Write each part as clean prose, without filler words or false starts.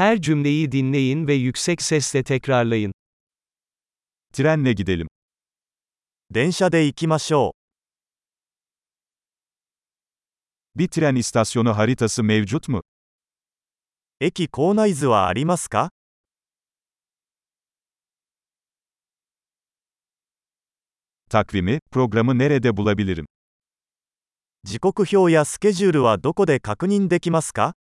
Her cümleyi dinleyin ve yüksek sesle tekrarlayın. Trenle gidelim. 電車で行きましょ Bir tren istasyonu haritası mevcut mu? う。駅構内図はありますか？ Takvimi, programı nerede bulabilirim? 時刻表やスケジュールはどこで確認できますか？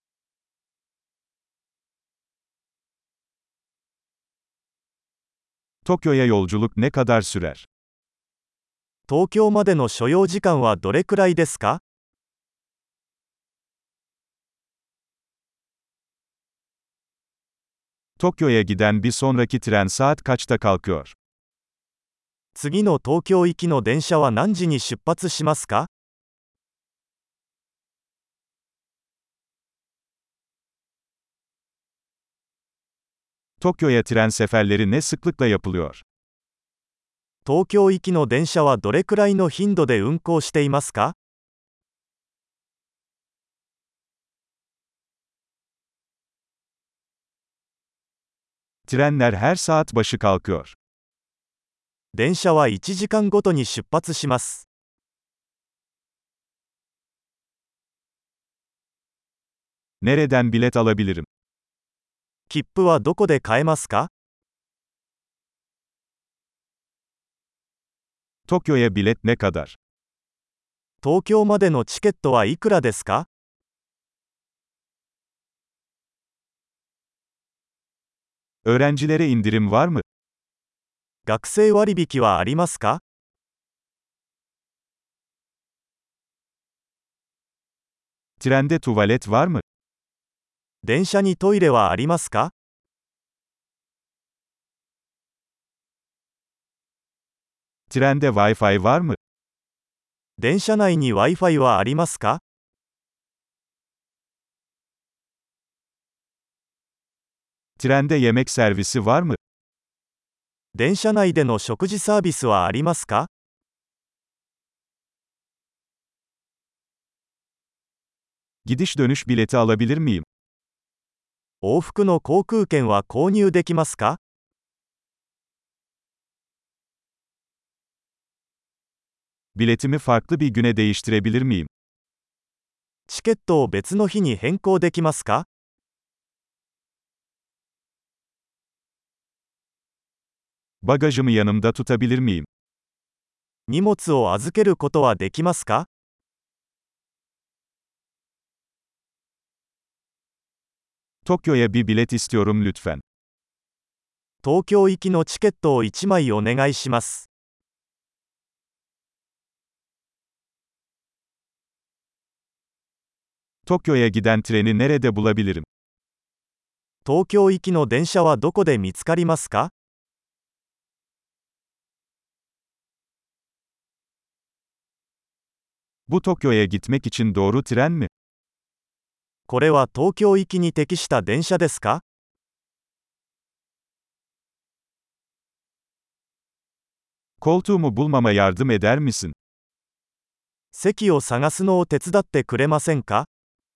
Tokyo'ya yolculuk ne kadar sürer? 東京までの所要時間はどれくらいですか？ Tokyo'ya giden bir sonraki tren saat kaçta kalkıyor? 次の東京行きの電車は何時に出発しますか？ Tokyo'ya tren seferleri ne sıklıkla yapılıyor? 東京行きの電車はどれくらいの頻度で運行していますか？ Trenler her saat başı kalkıyor. 電車は1時間ごとに出発します。 Nereden bilet alabilirim? 切符はどこで買えますか？ Tokyo'ya bilet ne kadar? 東京までのチケットはいくらですか？ Öğrencilere indirim var mı? 学生割引はありますか？ Trende tuvalet var mı? 電車にトイレはありますか？ Trende Wi-Fi var mı? 電車内に Wi-Fi はありますか？ Trende yemek servisi var mı? 電車内での食事サービスはありますか？ Gidiş dönüş bileti alabilir miyim? 往復の航空券は購入できますか？ Biletimi farklı bir güne değiştirebilir miyim? チケットを別の日に変更できますか？ Bagajımı yanımda tutabilir miyim? 荷物を預けることはできますか？ Tokyo'ya bir bilet istiyorum lütfen. 東京行きのチケットを1枚お願いします。 Tokyo'ya giden treni nerede bulabilirim? 東京行きの電車はどこで見つかりますか？ Bu Tokyo'ya gitmek için doğru tren mi? これは東京行きに適した電車ですか？ Koltuğumu bulmama yardım eder misin? 席を探すのを手伝ってくれませんか？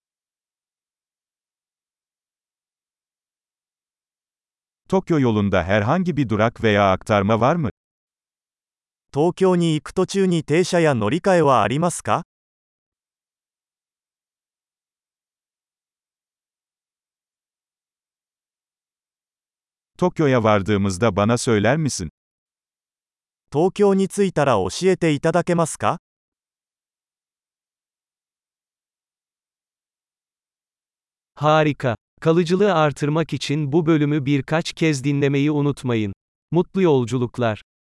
Tokyo yolunda herhangi bir durak veya aktarma var mı? 東京に行く途中に停車や乗り換えはありますか？ Tokyo'ya vardığımızda bana söyler misin? 東京に着いたら教えていただけますか？ Harika. Kalıcılığı artırmak için bu bölümü birkaç kez dinlemeyi unutmayın. Mutlu yolculuklar.